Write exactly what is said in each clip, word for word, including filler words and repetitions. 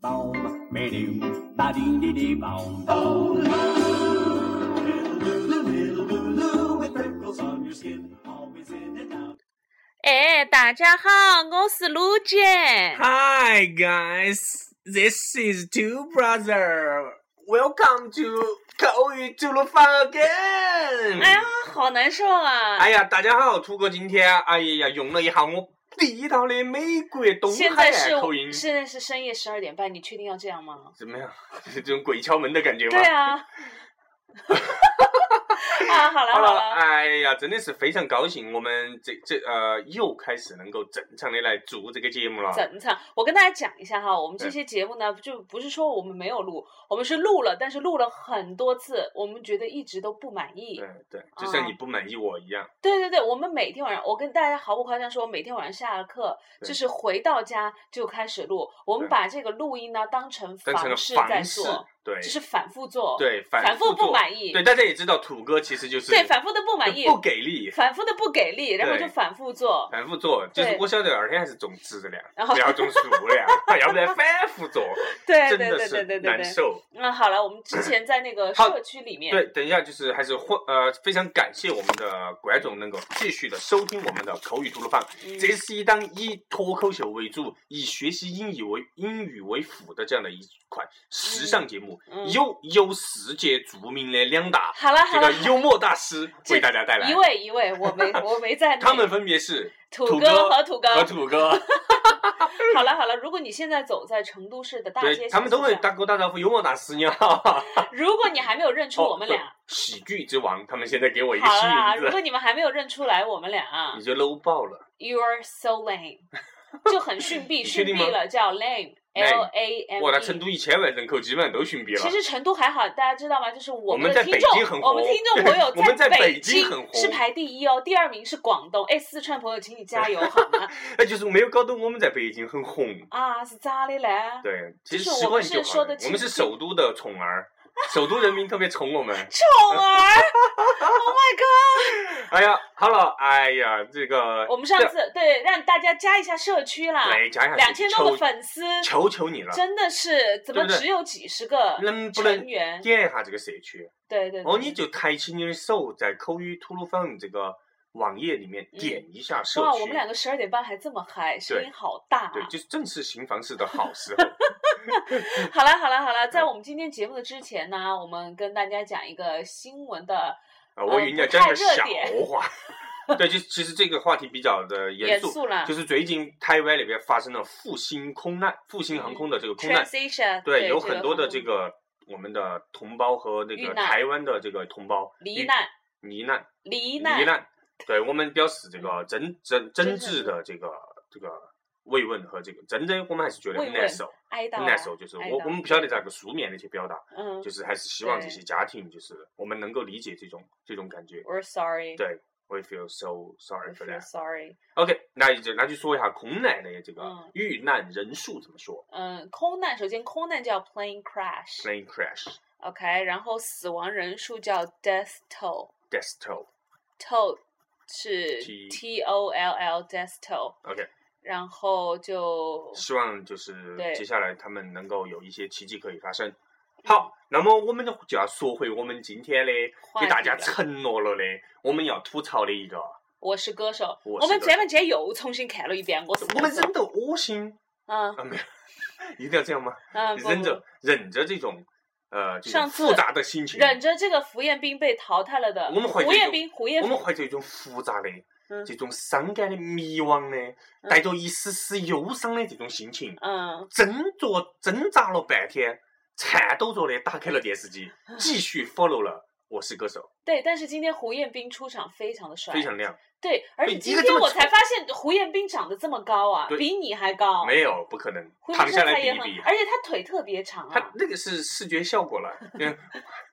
Boom, ba-doom, ba-dee-dee-dee-boom. Oh, Lulu, little Lulu, with freckles on your skin, always in and out. 哎，大家好，我是卢姐。 Hi guys, this is Two Brother. Welcome to 口语吐鲁番 again. 哎呀，好难受啊！ 哎呀，大家好，兔哥今天哎呀用了一下我地道的美国东现海在是岸口音。 现在是深夜十二点半，你确定要这样吗？ 怎么样？就是这种鬼敲门的感觉吗？ 对啊。啊，好了好了， 了， 哎呀，真的是非常高兴，我们这这呃又开始能够正常的来做这个节目了。 正常。我跟大家讲一下哈，我们这些节目呢，就不是说我们没有录，我们是录了，但是录了很多次，我们觉得一直都不满意。 对对，就像你不满意我一样。 对对对，我们每天晚上，我跟大家毫不夸张说，每天晚上下了课，就是回到家就开始录。我们把这个录音呢当成房事在做， 对， 就是反复做， 对， 反反复不满意。 对，大家也知道，土哥其实就是对反复的不满意， 不给力， 反复的不给力，然后就反复做， 反复做，就是我晓得二天还是重质量， 然后不要重数量，要不然反复做， 对真的是难受。 嗯，好了，我们之前在那个社区里面， 对，等一下就是还是呃非常感谢我们的观众能够继续的收听我们的口语吐鲁番， 嗯、 这是一档以脱口秀为主，以学习英语为英语为辅的这样的一款时尚节目， 嗯、 由由世界著名的两大好了好了这个幽默大师为大家带来， 一位一位，我没我没在他们分别是土哥和土哥和土哥。 好了好了，如果你现在走在成都市的大街小巷， 他们都会打给我打招呼，幽默大师你好。 如果你还没有认出我们俩， 哦、喜剧之王，他们现在给我一个新名字。 好啦，如果你们还没有认出来我们俩， 你就 low 爆了。 You're so lame， 就很逊毙，逊毙了，叫 lame。L A M E。 哇，那成都一千万人口基本上都逊毙了。 其实成都还好，大家知道吗？就是我们的听众，我们听众朋友我们在北京很红， 是排第一哦，第二名是广东。哎，四川朋友，请你加油好吗？ 那就是没有搞懂我们在北京很红啊，是咋的嘞？ 对，其实就是我们是说的， 我们是首都的宠儿。首都人民特别宠我们， 宠儿 ，Oh my god！ 哎呀，好了，哎呀，这个我们上次对让大家加一下社区啦， 对，加一下两千多个粉丝， 求求你了， 真的是怎么只有几十个成员？ 能不能点一下这个社区？ 对对对， 哦，你就抬起你的手，在口语吐鲁番这个网页里面点一下社区。 哇，我们两个十二点半还这么嗨，声音好大、啊。 对，就是正是新房事的好时候。 好了好了好了，在我们今天节目的之前呢，我们跟大家讲一个新闻的， 啊，我以为你要讲个笑话。对，就其实这个话题比较的严肃， 严肃了。 就是最近台湾那边发生了复兴空难，复兴航空的这个空难， 嗯、 对， 对有很多的这个我们的同胞和那个台湾的这个同胞罹难、 罹难、 罹难、 罹难，对我们表示这个真真真挚的这个这个。慰问和这个真的，我们还是觉得很难受，很难受。就是我我们不晓得咋个书面的去表达， 嗯， 就是还是希望这些家庭，就是我们能够理解这种这种感觉。 We're sorry。 对 ，We feel so sorry for that. Sorry. OK， 那就那就说一下空难的这个遇难人数怎么说？ 嗯，空难首先空难叫 plane crash。 plane crash。OK， 然后死亡人数叫 death toll。death toll。toll 是 T O L L death toll。OK。然后就希望就是接下来他们能够有一些奇迹可以发生。好，那么我们就要说回我们今天的给大家承诺了的，我们要吐槽的一个。 我是歌手。 我, 我们这边今天又重新看了一遍。我是歌手。 我们忍得恶心。 嗯。 啊没有，一定要这样吗？ 嗯。 忍着忍着这种呃这种复杂的心情。 忍着这个胡彦斌被淘汰了的。 我们怀着胡彦斌，胡彦斌。 我们怀着一种复杂的。这种伤感的、迷惘的、带着一丝丝忧伤的这种心情， 嗯， 挣扎挣扎了半天，颤抖着的打开了电视机，继续 follow 了《我是歌手》。 对，但是今天胡彦斌出场非常的帅， 非常亮。 对，而且今天我才发现胡彦斌长得这么高啊，比你还高。 没有，不可能，躺下来比一比。 而且他腿特别长啊。 他那个是视觉效果了。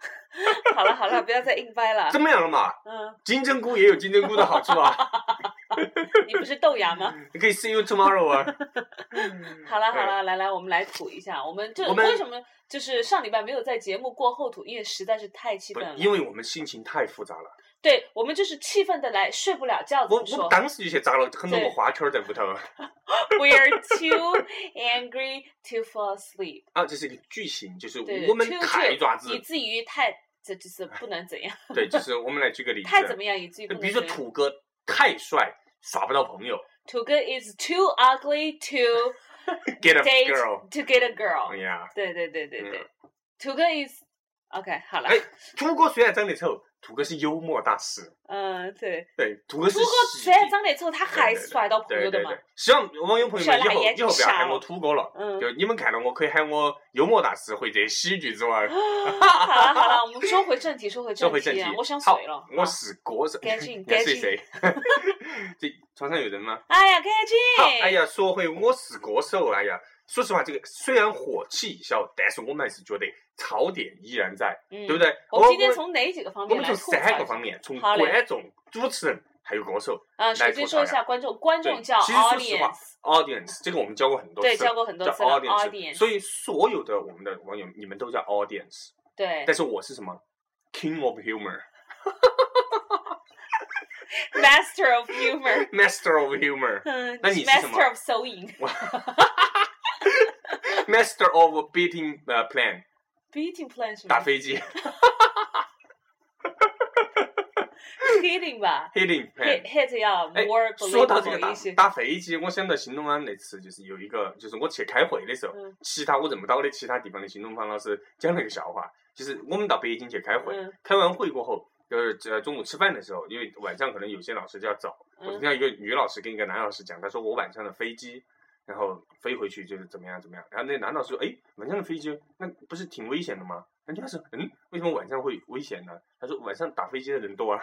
好了好了，不要再硬掰了。 怎么样了嘛？ 嗯， 金针菇也有金针菇的好处啊。 你不是豆芽吗？ 你可以 see you tomorrow 啊。 好了好了，来来，我们来吐一下。我们这为什么就是上礼拜没有在节目过后吐？因为实在是太气愤了。 因为我们心情太复杂了。 对，我们就是气愤的来睡不了觉。 我我当时就去扎了很多个花圈在屋头。 We are too angry to fall asleep。 啊，这是一个句型，就是我们太爪子， 以至于太，这就是不能怎样。 对，就是我们来举个例子。 太怎么样，以至于不能怎样。 比如说土哥太帅，耍不到朋友。 土哥 is too ugly to get a date girl to get a girl。 Yeah。 对对对对对，土哥 is OK 好了。 哎，土哥虽然长得丑。土哥是幽默大师， 嗯，对对，土哥是。 土哥虽然长得丑，他还是耍到朋友的嘛。 希望网友朋友们以后以后不要喊我土哥了，嗯，就你们看到我可以喊我幽默大师或者喜剧之王。 好了好了，我们说回正题，说回正题。 说回正题， 我想睡了。 我是歌手。 赶紧赶紧。 谁？这床上有人吗？ 哎呀，赶紧！ 好，哎呀，说回我是歌手，哎呀。说实话，这个虽然火气小，但是我们还是觉得槽点依然在， 嗯、 对不对？ 我们今天从哪几个方面来？我们从三个方面，从观众、主持人还有歌手。 啊，首先说一下观众，观众叫 audience，audience， 这个我们教过很多次， 对，教过很多次了 audience。 所以所有的我们的网友，你们都叫 audience。 对。 但是我是什么 ？King of humor。Master of humor。 Master of humor。 嗯。 那你是什么 ？Master of sewing。 Master of beating plan。 beating plan 是打飞机。 hitting 吧 ，hitting hit hit 要 more believable 一些。 说到这个打打飞机，我想到新东方那次，就是有一个，就是我去开会的时候， 嗯、 其他我认不到的其他地方的新东方老师讲了一个笑话，就是我们到北京去开会， 嗯、 开完会过后，就是呃中午吃饭的时候，因为晚上可能有些老师就要走， 嗯、 我听到一个女老师跟一个男老师讲，他说我晚上的飞机。然后飞回去就是怎么样怎么样，然后那男老师说：“哎，晚上的飞机那不是挺危险的吗？”人家说：“嗯，为什么晚上会危险呢？”他说：“晚上打飞机的人多啊。”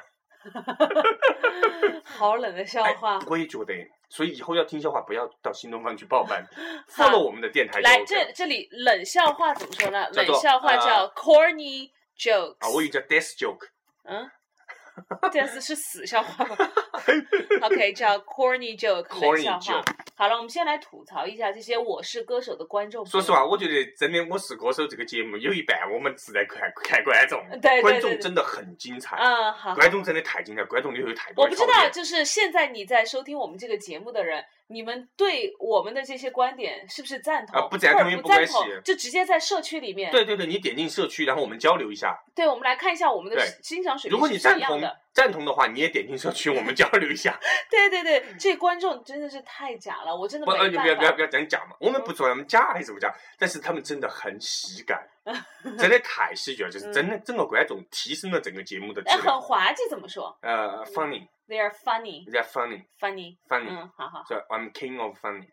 好冷的笑话。 我也觉得，所以以后要听笑话，不要到新东方去报班，follow 我们的电台。 来，这这里冷笑话怎么说呢？冷笑话叫 corny jokes。 啊，我以为叫 death joke。 嗯。death 是死笑话吗 ？OK， 叫 corny joke 冷笑话。好了，我们先来吐槽一下这些《我是歌手》的观众。 说实话，我觉得真的《我是歌手》这个节目有一半我们是在看看观众， 对对对对， 观众真的很精彩。 嗯，好， 观众真的太精彩，观众里头有太多。 我不知道，就是现在你在收听我们这个节目的人，你们对我们的这些观点是不是赞同？ 啊，不赞同也不关系， 就直接在社区里面。 对对对，你点进社区，然后我们交流一下。 对，我们来看一下我们的欣赏水平是什么样的。如果你赞同赞同的话，你也点进社区，我们交流一下。 对对对，这观众真的是太假了，我真的没办法。 不要不要不要讲假嘛，我们不说他们假还是不假，但是他们真的很喜感，真的太喜剧了，就是真的整个观众提升了整个节目的质量。 哎，很滑稽怎么说？ 呃 ，funny。 They are funny. They are funny. Funny. Funny. 嗯，好好。 So I'm king of funny.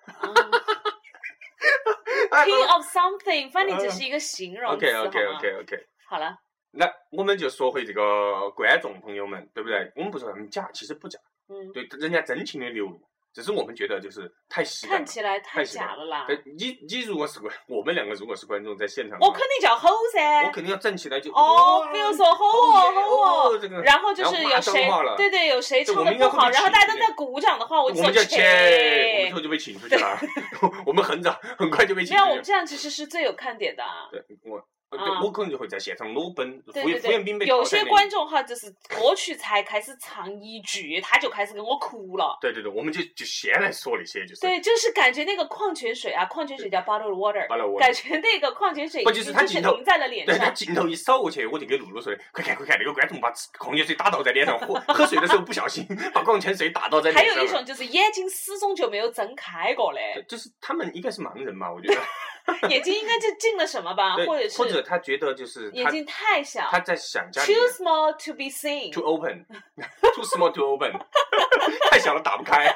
King of something, funny 只是一个形容词， OK OK OK OK。 好了。 那我们就说回这个观众朋友们，对不对？我们不说他们假，其实不假， 嗯， 对，人家真情的流露，只是我们觉得就是太喜感了， 看起来太假了啦。 对，你你如果是我们两个如果是观众在现场， 我肯定叫吼噻， 我肯定要站起来就哦，比如说吼哦吼哦， 这个， 然后就是有谁，对对，有谁唱的不好，然后大家都在鼓掌的话，我我们就切，我们以后就被请出去了，我们很早很快就被请出去了。 没有，我们这样其实是最有看点的。 对，我。对，我可能就会在现场裸奔， 敷衍兵被。有些观众哈，就是歌曲才开始唱一句，他就开始跟我哭了。 对对对，我们就就先来说那些，就是。 对，就是感觉那个矿泉水啊，矿泉水叫 bottled water， 感觉那个矿泉水不就是他镜头淋在了脸上。 对，他镜头一扫过去，我就给露露说的，快看快看，那个观众把矿泉水打倒在脸上，喝喝水的时候不小心把矿泉水打倒在脸上。 还有一种就是眼睛始终就没有睁开过嘞。 就是他们应该是盲人嘛，我觉得。 眼睛应该就进了什么吧，或者是或者他觉得就是眼睛太小， 他在想家里 too small to be seen too open too small to open 太小了打不开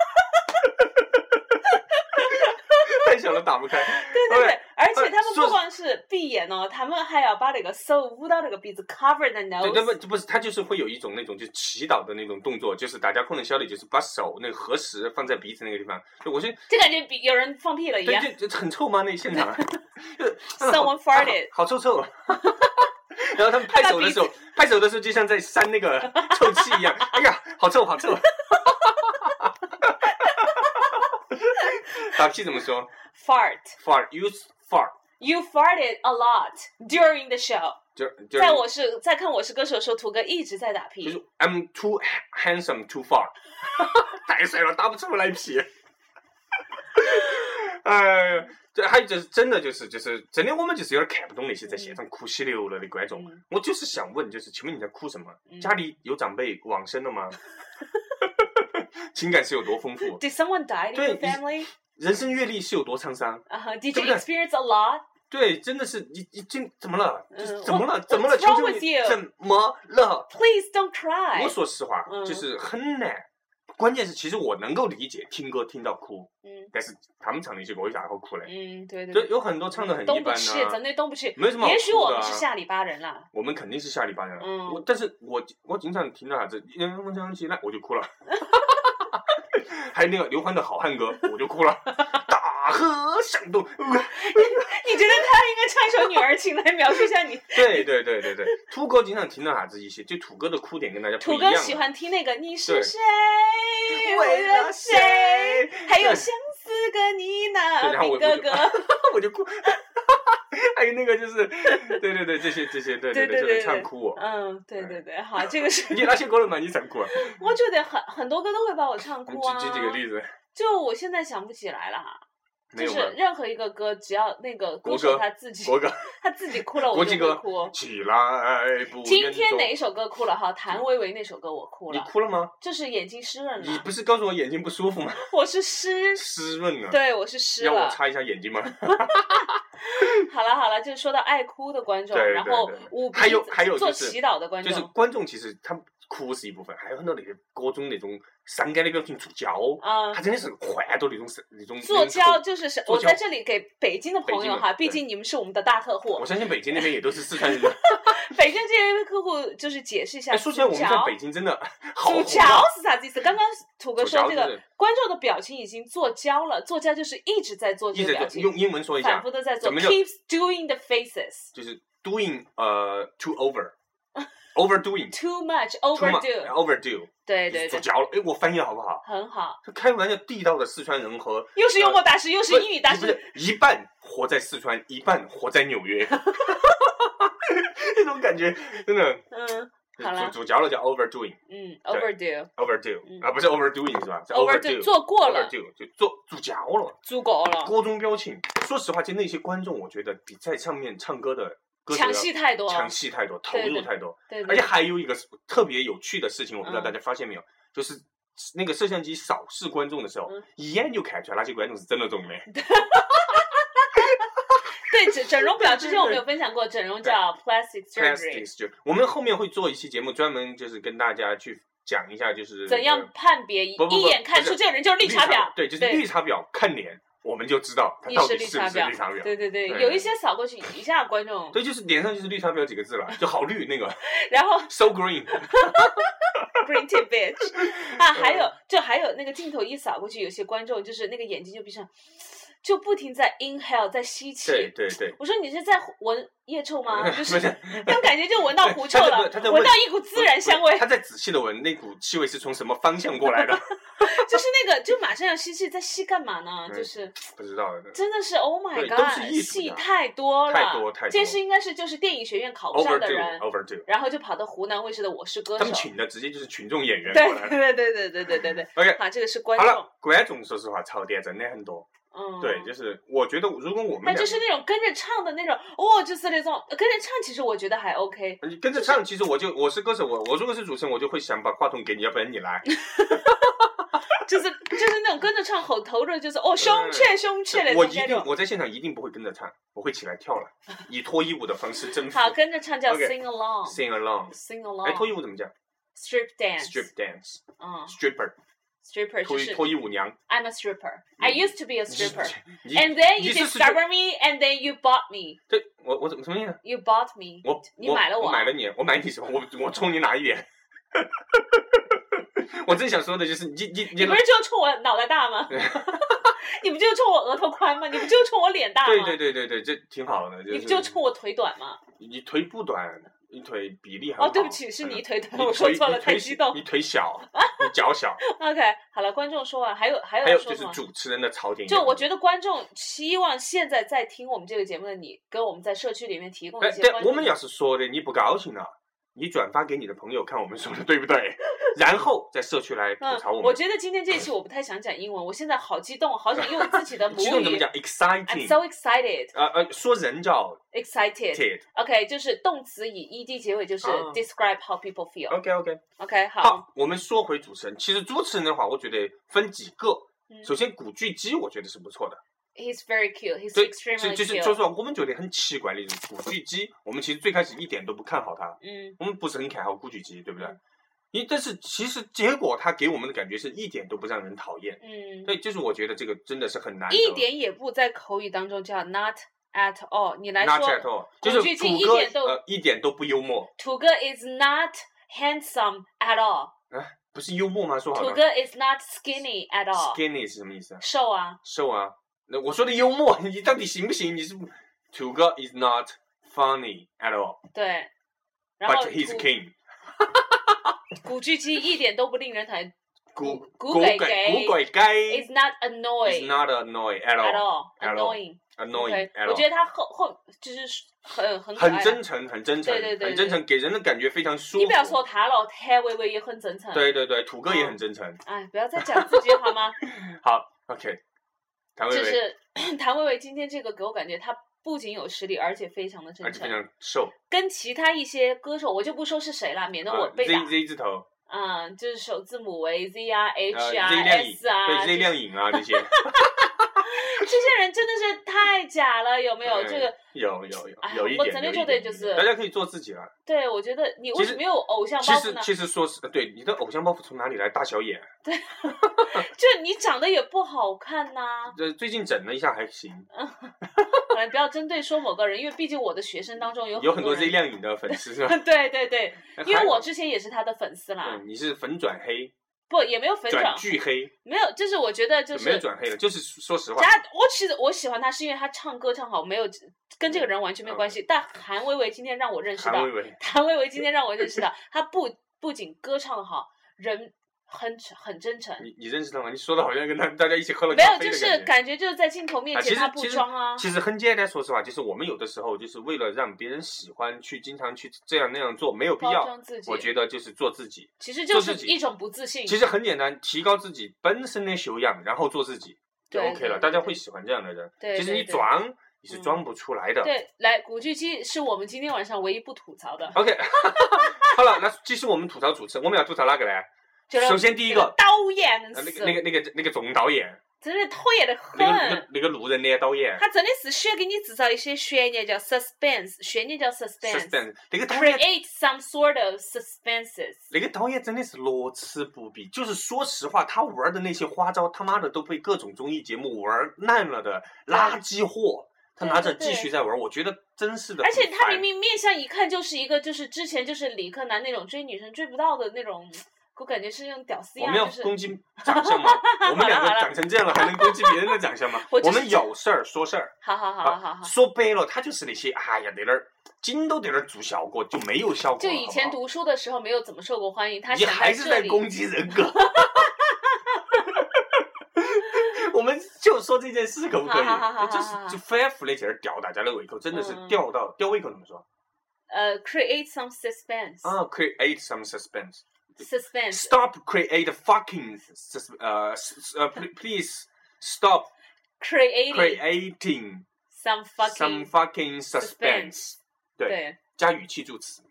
太小了打不开。 对对对，而且他们不光是闭眼哦，他们还要把那个手捂到那个鼻子 cover the nose。 对，不不是，他就是会有一种那种就是祈祷的那种动作，就是大家可能晓得，就是把手那个合十放在鼻子那个地方。就我觉得就感觉比有人放屁了一样。 对，就就很臭吗？那现场 ？Someone farted， 好臭臭。然后他们拍手的时候，拍手的时候就像在扇那个臭气一样。哎呀，好臭好臭。 打屁怎么说 ？Fart. Fart. You fart. You farted a lot during the show. 就就在我是在看我是歌手的时候，土哥一直在打屁。 就是 I'm too handsome to fart. 太帅了，打不出来屁。哎，这还有就是真的就是就是真的，我们就是有点看不懂那些在现场哭稀流了的观众。嗯、我就是想问，就是请问你在哭什么？嗯、家里有长辈往生了吗？情感是有多丰富 ？Did someone die in your family？ 人生阅历是有多沧桑 ？Uh-huh. Did you experience a lot？ 对，真的是你你今怎么了？就是怎么了？ 嗯、 怎么了？求求你，怎么了 ？Please don't cry。 我说实话，嗯、就是很难。关键是，其实我能够理解听歌听到哭，嗯，但是他们唱那些歌为啥会哭嘞？ 嗯，对对对，有很多唱的很一般啊，真的动不起， 没什么好哭的、啊。 也许我们是下里巴人啦， 我们肯定是下里巴人， 嗯， 我但是我我经常听到啥子，嗯，我想起来我就哭了，还有那个刘欢的好汉歌，我就哭了，大河向东。 你觉得他应该唱一首《女儿情》来描述一下你？ 对对对对对，土哥经常听到啥子一些，就土哥的哭点跟大家不一样。 土哥喜欢听那个你是谁，为了谁，还有相思个你那兵哥哥， 我就哭。还有那个就是，对对对，这些这些，对对对，就能唱哭我。 嗯，对对对，好，这个是。 你哪些歌能把你唱哭啊？ 我觉得很很多歌都会把我唱哭啊。 举举几个例子。 就我现在想不起来了。就是任何一个歌，只要那个歌手他自己， 国歌他自己哭了，我就会哭。 起来，不今天哪一首歌哭了？哈，谭维维那首歌我哭了。 你哭了吗？ 就是眼睛湿润了。 你不是告诉我眼睛不舒服吗？ 我是湿湿润了。 对，我是湿了。 要我擦一下眼睛吗？ 好了好了，就是说到爱哭的观众，然后舞还有还有做祈祷的观众， 就是观众其实他哭是一部分，还有很多那个各种那种伤感的表情做胶，啊、嗯，他真的是换到那种那种做胶就是是，我在这里给北京的朋友哈，毕竟你们是我们的大客户， 我相信北京那边也都是四川人。 北京这些客户就是解释一下， 说起来我们在北京真的好。 做胶是啥意思？刚刚土哥说这个观众的表情已经做胶了，做胶就是一直在做这个表情， 用英文说一下， 反复的在做 ，keeps doing the faces， 就是 doing 呃 too over。overdoing too much overdo overdo 对对对， 做胶了。哎，我翻译好不好？ 很好。 开玩笑，地道的四川人和又是幽默大师，又是英语大师， 一半活在四川，一半活在纽约，那种感觉真的。 嗯，好了， 做胶了叫 overdoing， 嗯 ，overdo overdo 啊，不是 overdoing 是吧 ？overdo 做过了， overdo 就做做胶了， 做过了。 各种表情，说实话，就那些观众，我觉得比在上面唱歌的。 抢戏太多， 抢戏太多，投入太多， 对对对对， 而且还有一个特别有趣的事情，我不知道大家发现没有，嗯、就是那个摄像机扫视观众的时候，嗯、一眼就看出来哪些观众是真的中的。 对，整整容表之前我们有分享过，整容叫 plastic surgery。 我们后面会做一期节目，专门就是跟大家去讲一下，就是怎样判别，一眼看出这个人就是绿茶婊。 对，就是绿茶婊，看脸。我们就知道他到底是不是绿茶婊。 对对对，有一些扫过去一下观众。 对，就是脸上就是绿茶婊几个字了，就好绿那个。 然后 so green green tea bitch 啊，还有就还有那个镜头一扫过去，有些观众就是那个眼睛就闭上，就不停在 inhale 在吸气。 对对对。 我说你是在闻腋臭吗？就是那种感觉就闻到狐臭了，闻到一股孜然香味。 他在仔细的闻那股气味是从什么方向过来的。 就是那个，就马上要吸气，在吸干嘛呢？就是不知道的， 真的是 Oh my God， 戏太多了， 太多太多。 这是应该是就是电影学院考不上的人 ，overdo， 然后就跑到湖南卫视的《我是歌手》， 他们请的直接就是群众演员过来。 对对对对对对对对。 OK， 好，这个是观众。 好了，观众说实话，槽点真的很多。 嗯， 对，就是我觉得如果我们， 那就是那种跟着唱的那种，哦，就是那种跟着唱，其实我觉得还 OK。 你跟着唱，其实我就我是歌手，我我如果是主持人，我就会想把话筒给你，要不然你来。 就是就是那种跟着唱吼头的，就是哦胸切胸切的。 我一定我在现场一定不会跟着唱，我会起来跳了，以脱衣舞的方式征服。 好，跟着唱叫 sing along。sing along。sing along。 哎，脱衣舞怎么讲 ？strip dance。 strip dance。 嗯。 stripper。stripper 就是脱衣舞娘。 I'm a stripper. I used to be a stripper. And then you discover me, and then you bought me. 对，我我怎么什么意思 ？You bought me. 我你买了我。 我买了你，我买你什么？我我冲你哪一点？我真想说的就是你你你不是就冲我脑袋大吗？你不就冲我额头宽吗？你不就冲我脸大吗？ 对对对对对，这挺好的。 你不就冲我腿短吗？ 你腿不短， 一腿比例很好。 哦，对不起，是你一腿短， 嗯、 我说错了，太激动。 你腿小，你脚小。 OK， 好了，观众说完，还有还有还有就是主持人的槽点。 就我觉得观众希望现在在听我们这个节目的你，跟我们在社区里面提供一些。 对，我们要是说的你不高兴了，你转发给你的朋友看我们说的对不对？然后在社区来吐槽我们。 嗯、我觉得今天这一期我不太想讲英文，我现在好激动，好想用自己的母语。 激动怎么讲 ？Exciting。 I'm so excited。 呃呃，说人叫 excited。OK， 就是动词以 ed 结尾，就是 describe how people feel。 OK OK OK 好。 好，我们说回主持人。其实主持人的话，我觉得分几个。 嗯、 首先，古巨基我觉得是不错的。 He's very cute. He's extremely cute. 就是就是说，我们觉得很奇怪的就是古巨基，我们其实最开始一点都不看好他。 嗯。 我们不是很看好古巨基，对不对？ 嗯因但是其实结果他给我们的感觉是一点都不让人讨厌， 嗯， 对，就是我觉得这个真的是很难得。 一点也不在口语当中叫 not at all， 你来说 not at all， 就是土哥一点都、呃、一点都不幽默。 土哥 is not handsome at all， 啊，不是幽默吗？说好了。 土哥 is not skinny at all。skinny 是什么意思？ 瘦啊。 瘦啊，那我说的幽默，你到底行不行？你是土哥 is not funny at all。 对，然后 But he's king。 古巨基一点都不令人讨厌。 古古鬼鬼古鬼鬼 is not annoying is not annoying at all at all annoying annoying at all。 我觉得他后后就是很很很真诚，很真诚， 对对对， 很真诚，给人的感觉非常舒服。 你不要说他了，谭维维也很真诚。 对对对，土哥也很真诚。 哎，不要再讲自己好吗？ 好 ，OK。谭维维就是谭维维今天这个给我感觉他。不仅有实力，而且非常的真诚， 而且非常瘦。跟其他一些歌手，我就不说是谁了，免得我被打。 uh, Z Z 字头。 嗯，就是首字母为 Z 啊 ，H 啊 ，S 啊， 对 Z 亮颖啊这些。 这些人真的是太假了，有没有？这个有有有有一点， 我真的觉得就是大家可以做自己了。 对，我觉得你为什么有偶像包袱呢？ 其实其实说是对你的偶像包袱从哪里来？大小眼。 对，就你长得也不好看呐。 呃，最近整了一下还行。 嗯，不要针对说某个人，因为毕竟我的学生当中有有很多 Z 亮颖的粉丝是吧？ 对对对，因为我之前也是他的粉丝啦。 你是粉转黑。 不，也没有粉转巨黑， 没有，就是我觉得就是没有转黑了，就是说实话。 他我其实我喜欢他是因为他唱歌唱好，没有跟这个人完全没有关系。嗯、但韩维维今天让我认识到， 韩维维， 韩维维今天让我认识到，他不不仅歌唱的好，人很很真诚。 你你认识他吗？你说的好像跟他大家一起喝了咖啡的感觉。 没有，就是感觉就是在镜头面前他不装啊。 其实很简单，说实话，就是我们有的时候就是为了让别人喜欢，去经常去这样那样做，没有必要。我觉得就是做自己， 其实就是一种不自信。 其实很简单，提高自己本身的修养，然后做自己就 OK 了。大家会喜欢这样的人。 对， 其实你装你是装不出来的。 对，来，古巨基是我们今天晚上唯一不吐槽的。 OK， 好了，那继续我们吐槽主持人，我们要吐槽哪个呢？首先第一个导演、 呃，那个那个那个那个总导演， 真的讨厌的很。 那个那个那个路人的导演， 他真的是喜欢给你制造一些悬念，叫 suspense， 悬念叫 suspense。 suspense， 那个导演 create some sort of suspenses。 那个导演真的是乐此不疲，就是说实话，他玩的那些花招，他妈的都被各种综艺节目玩烂了的垃圾货。他拿着继续在玩，我觉得真是的。 而且他明明面相一看就是一个，就是之前就是理科男那种追女生追不到的那种。我感觉是那种屌丝样。 我们要攻击长相吗？我们两个长成这样了，还能攻击别人的长相吗？我, 我们有事儿说事儿。 好好好好好。 说白了，他就是那些哎呀，在那儿筋都在那儿做效果，就没有效果。 就以前读书的时候没有怎么受过欢迎，他你还是在攻击人格。我们就说这件事可不可以？就是就反复的在那儿吊大家的胃口，真的是吊到、嗯、吊胃口怎么说？ 呃、uh, ，create some suspense。 啊 ，create some suspense。suspense。 Stop create fucking sus 呃呃 please stop creating creating some fucking some fucking suspense。对，加语气助词。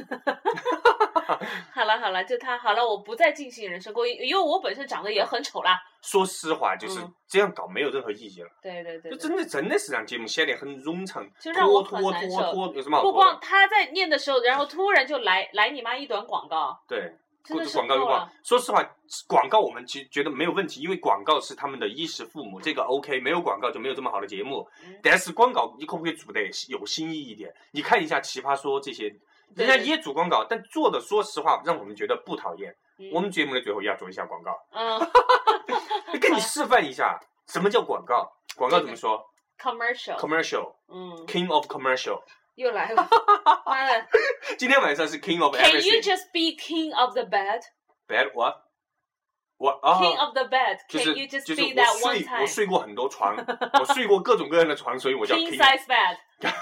好了好了，就他好了，我不再进行人身攻击，因为我本身长得也很丑啦。 说实话，就是这样搞没有任何意义了。 嗯、对对 对, 对， 就真的真的是让节目显得很冗长， 就让我很拖难受。 拖拖，有什么好不光他在念的时候，然后突然就来来你妈一段广告。 对， 真的是广告又广。说实话，广告我们其实觉得没有问题，因为广告是他们的衣食父母，这个 OK。没有广告就没有这么好的节目。嗯、但是广告你可不可以做得有新意一点？你看一下奇葩说这些。人家也做广告，但做的说实话让我们觉得不讨厌。嗯、我们节目的最后也要做一下广告。嗯，跟你示范一下什么叫广告。广告怎么说 ？Commercial。 Commercial。 嗯。 King of commercial。 又来了，妈的！ 今天晚上是 King of Can everything. you just be king of the bed? Bed what? What? 哦 King of the bed. 就 Can 是 you just 就是 be 我 that one 睡 time? 我睡过很多床，我睡过各种各样的床，所以我叫 King King. size bed.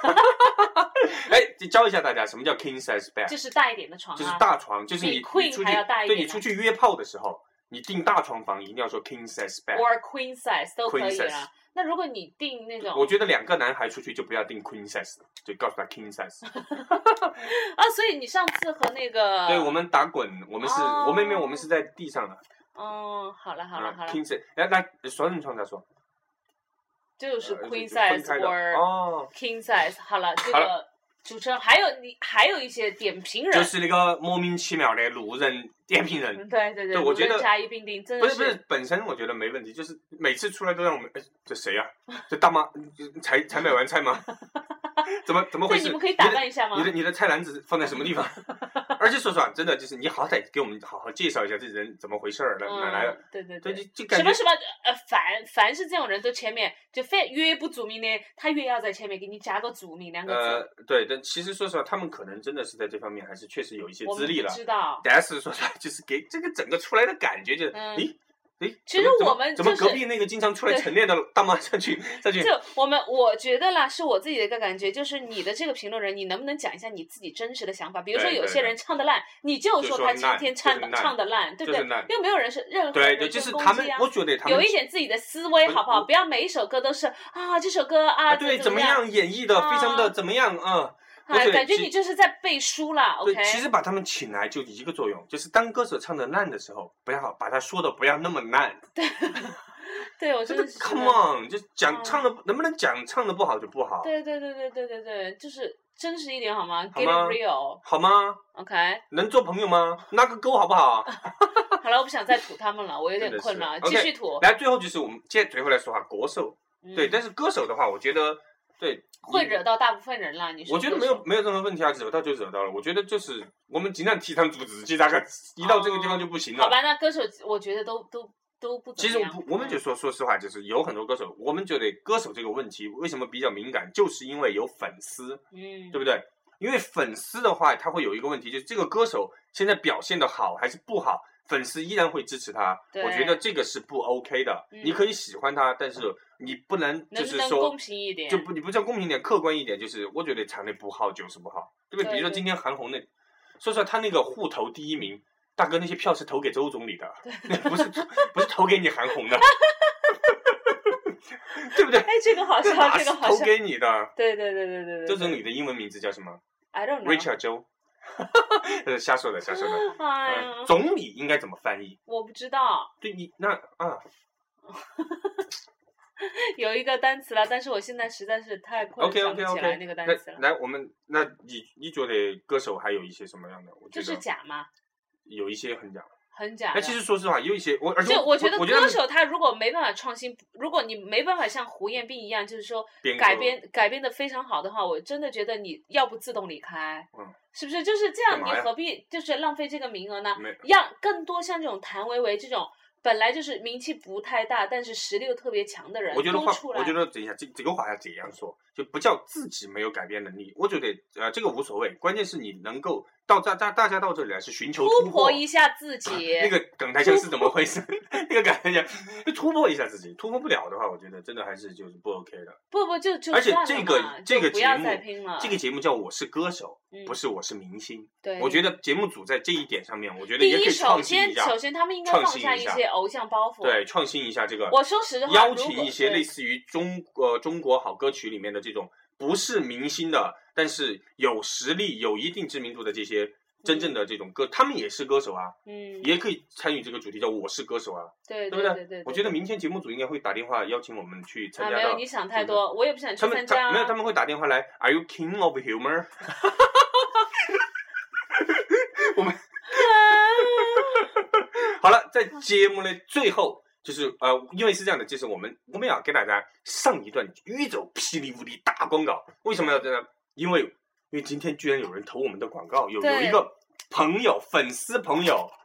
哎，教一下大家什么叫 King size bed？ 就是大一点的床啊。 就是大床，就是你比 Queen 你出去还要大一点的对你出去约炮的时候，你订大床房一定要说 King size bed。 Or queen size 都可以 Queen size 啦。那如果你订那种， 我觉得两个男孩出去就不要订 Queen size， 就告诉他 King size。 啊，所以你上次和那个， 对，我们打滚，我们是， 哦我们没有，我们是在地上的。 嗯，好了好了好了 King size， 来来，双人床再说。 就是 queen 呃 size 分开的 or 哦 king size。好了，这好个主持人还有你还有一些点评人， 就是那个莫名其妙的路人点评人。 嗯对对对我觉得路人甲乙丙丁真的不是不是，本身我觉得没问题，就是每次出来都让我们，哎，这谁呀、啊？这大妈才才买完菜吗？怎么怎么回事？ 对，你们可以打扮一下吗？ 你的你的菜篮子放在什么地方？而且说实话，真的就是你好歹给我们好好介绍一下这人怎么回事儿，哪哪来的？ 嗯、对对对， 对， 就就感觉什么什么呃，凡凡是这种人都前面就非越不注明的，他越要在前面给你加个注明两个字。 呃，对，但其实说实话，他们可能真的是在这方面还是确实有一些资历了。 我们不知道， 但是说实话，就是给这个整个出来的感觉就是， 嗯、 诶。诶， 其实我们、 就是、怎么隔壁那个经常出来晨练的大妈上去上去？ 就我们我觉得啦，是我自己的一个感觉，就是你的这个评论人，你能不能讲一下你自己真实的想法？比如说有些人唱的烂，你就说他今天唱的唱的烂，对不对？又没有人是任何对对，就是他们，我觉得他们有一点自己的思维，好不好？不要每一首歌都是啊，这首歌啊， 对， 怎么样演绎的非常的怎么样啊？ 哎，感觉你就是在背书啦 ，OK？ 其实把他们请来就一个作用，就是当歌手唱的烂的时候，不要把他说的不要那么烂。 对，对我真的是 Come on， 就讲唱的能不能讲唱的不好就不好。 对对对对对对对，就是真实一点好吗 ？Get it real， 好吗 ？OK？ 能做朋友吗？拉个勾好不好？ 好了，我不想再吐他们了，我有点困了，继续吐。 来，最后就是我们接最后来说哈，国手，对，但是歌手的话，我觉得。对， 会惹到大部分人啦。你说？ 我觉得没有没有任何问题啊，惹到就惹到了。我觉得就是我们尽量提倡组织，其实大概一到这个地方就不行了。 好吧，那歌手我觉得都都都不怎么样。 其实我们就说说实话，就是有很多歌手，我们觉得歌手这个问题为什么比较敏感，就是因为有粉丝， 嗯， 对不对？因为粉丝的话，他会有一个问题，就是这个歌手现在表现的好还是不好，粉丝依然会支持他。我觉得这个是不 OK 的。 嗯、 你可以喜欢他，但是你不能就是说，能能公平一点， 就不你不叫公平一点，客观一点，就是我觉得唱的不好就是不好，对不对？比如说今天韩红那，说实话，他那个户头第一名，大哥那些票是投给周总理的，不是不是投给你韩红的。对不对？ 哎，这个好笑，这个好笑。 投给你的。 对对对对对对。 周总理的英文名字叫什么 ？I don't know。 Richard 周。这是瞎说的，瞎说的。 哎呀、 嗯，总理应该怎么翻译？ 我不知道。 对你那啊。 有一个单词了，但是我现在实在是太困了， okay, okay, okay. 想不起来那个单词了。 来，我们那你你觉得歌手还有一些什么样的？我觉得就是假吗？ 有一些很假。 很假。 那其实说实话，有一些我，而且就我觉得歌手他如果没办法创新，如果你没办法像胡彦斌一样，就是说改编改编的非常好的话，我真的觉得你要不自动离开， 嗯， 是不是？就是这样，你何必就是浪费这个名额呢？让更多像这种谭维维这种本来就是名气不太大，但是实力又特别强的人， 我觉得话， 出来我觉得等一下，这这个话要这样说，就不叫自己没有改变能力。我觉得呃，这个无所谓，关键是你能够到大大大家到这里来是寻求突破， 突破一下自己。 那个梗台腔是怎么回事？那个梗台腔就突破一下自己，突破不了的话，我觉得真的还是就是不 OK 的。 不不就就而且这个这个节目，这个节目叫《我是歌手》， 嗯、 不是我是明星。 对， 我觉得节目组在这一点上面，我觉得也可以创新一下。 首先，首先他们应该放下一些偶像包袱， 对，创新一下这个。 我说实话， 邀请一些类似于中呃中国好歌曲里面的这种不是明星的，但是有实力、有一定知名度的这些真正的这种歌， 嗯、 他们也是歌手啊， 嗯， 也可以参与这个主题叫“我是歌手”啊， 对对不对对对。 我觉得明天节目组应该会打电话邀请我们去参加到。 啊，没有，你想太多，我也不想去参加、啊。 没有，他们会打电话来 ，Are you king of humor？ 我们好了，在节目的最后，就是呃，因为是这样的，就是我们我们要给大家上一段宇宙霹雳无敌大广告。为什么要这样？因为因为今天居然有人投我们的广告，有有一个朋友粉丝朋友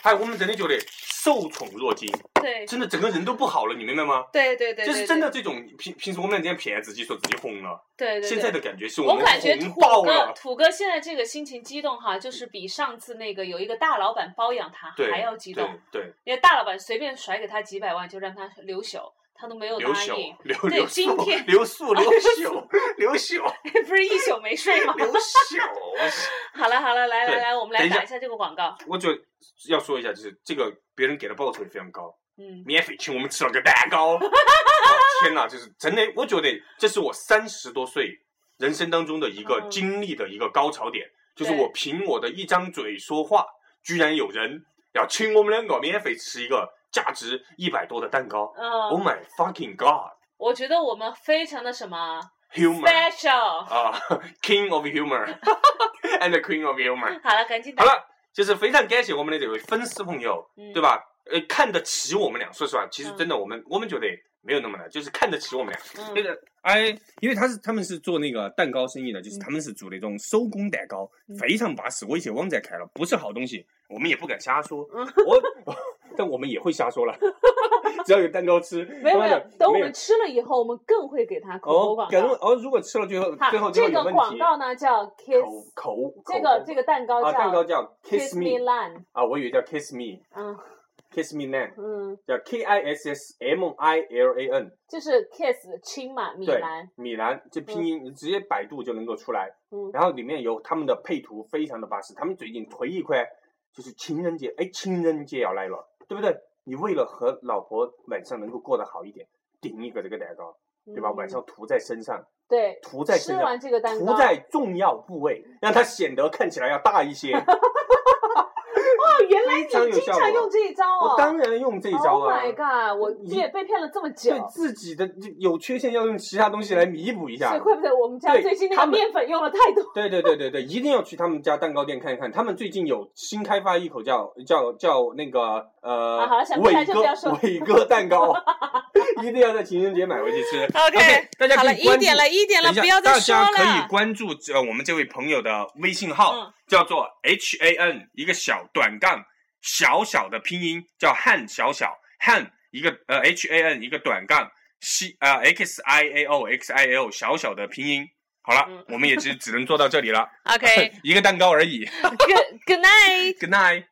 哎，我们真的觉得受宠若惊， 对， 真的整个人都不好了，你明白吗？ 对对 对, 对， 就是真的这种平平时我们这样骗自己说自己红了， 对 对, 对， 现在的感觉是我们感觉土哥土哥现在这个心情激动哈，就是比上次那个有一个大老板包养他还要激动， 对，对， 因为大老板随便甩给他几百万就让他留宿。他都没有答应，对，今天留宿留宿留宿， 不是一宿没睡吗？ 留宿。 好了好了，来来来，我们来打一下这个广告。 我就要说一下，就是这个别人给的报酬也非常高， 嗯， 免费请我们吃了个蛋糕。哦、天哪，就是真的，我觉得这是我三十多岁人生当中的一个经历的一个高潮点，嗯、就是我凭我的一张嘴说话，居然有人要请我们两个免费吃一个。价值一百多的蛋糕、 嗯、 ，Oh my fucking god！ 我觉得我们非常的什么 humor special 啊、uh, ，King of humor and the Queen of humor。 好了，赶紧打。 好了，就是非常感谢我们的这位粉丝朋友， 嗯、 对吧？呃，看得起我们俩。说实话，其实真的我们、嗯、我们觉得没有那么难，就是看得起我们俩。那个、嗯、哎，因为他是他们是做那个蛋糕生意的，就是他们是做那种手工蛋糕，嗯、非常巴适。我以前网站看了，不是好东西，我们也不敢瞎说。嗯、我。但我们也会瞎说了，只要有蛋糕吃。 没有没有，等我们吃了以后，我们更会给他口播广告。 哦，哦，如果吃了最后最后这个广告呢叫 Kiss 口口， 这个这个蛋糕叫、 啊、蛋糕叫 Kiss Me Land 啊，我以为叫 Kiss Me， 嗯 ，Kiss Me Land， 嗯， 叫 K I S S M I L A N， 就是 Kiss 亲嘛，米兰， 米兰这拼音、嗯、你直接百度就能够出来。 嗯， 然后里面有他们的配图，非常的巴适。他们最近推一块，就是情人节，哎，情人节要来了，对不对？你为了和老婆晚上能够过得好一点，顶一个这个蛋糕，对吧？嗯、晚上涂在身上， 对， 涂在身上， 吃完这个蛋糕， 涂在重要部位，让它显得看起来要大一些。 哦，原来你经常用这一招哦！ 我当然用这一招啊 ！Oh my god！ 我也被骗了这么久。 对自己的有缺陷要用其他东西来弥补一下。 所以怪不得我们家最近那个面粉用了太多。 对对对对对，一定要去他们家蛋糕店看一看，他们最近有新开发一口叫叫叫那个呃、 啊、好了，想不起来就不要说伟哥蛋糕，一定要在情人节买回去吃。 OK，, okay 大家可以好了，一点了，一点了，不要再说了。 大家可以关注呃我们这位朋友的微信号，嗯、叫做 H A N 一个小短杠。小小的拼音叫汉小小汉一个呃 H A N 一个短杠 C 呃 X I A O X I A O 小小的拼音。好了，嗯、我们也只只能做到这里了。 OK， 一个蛋糕而已。 Good Good night. Good night.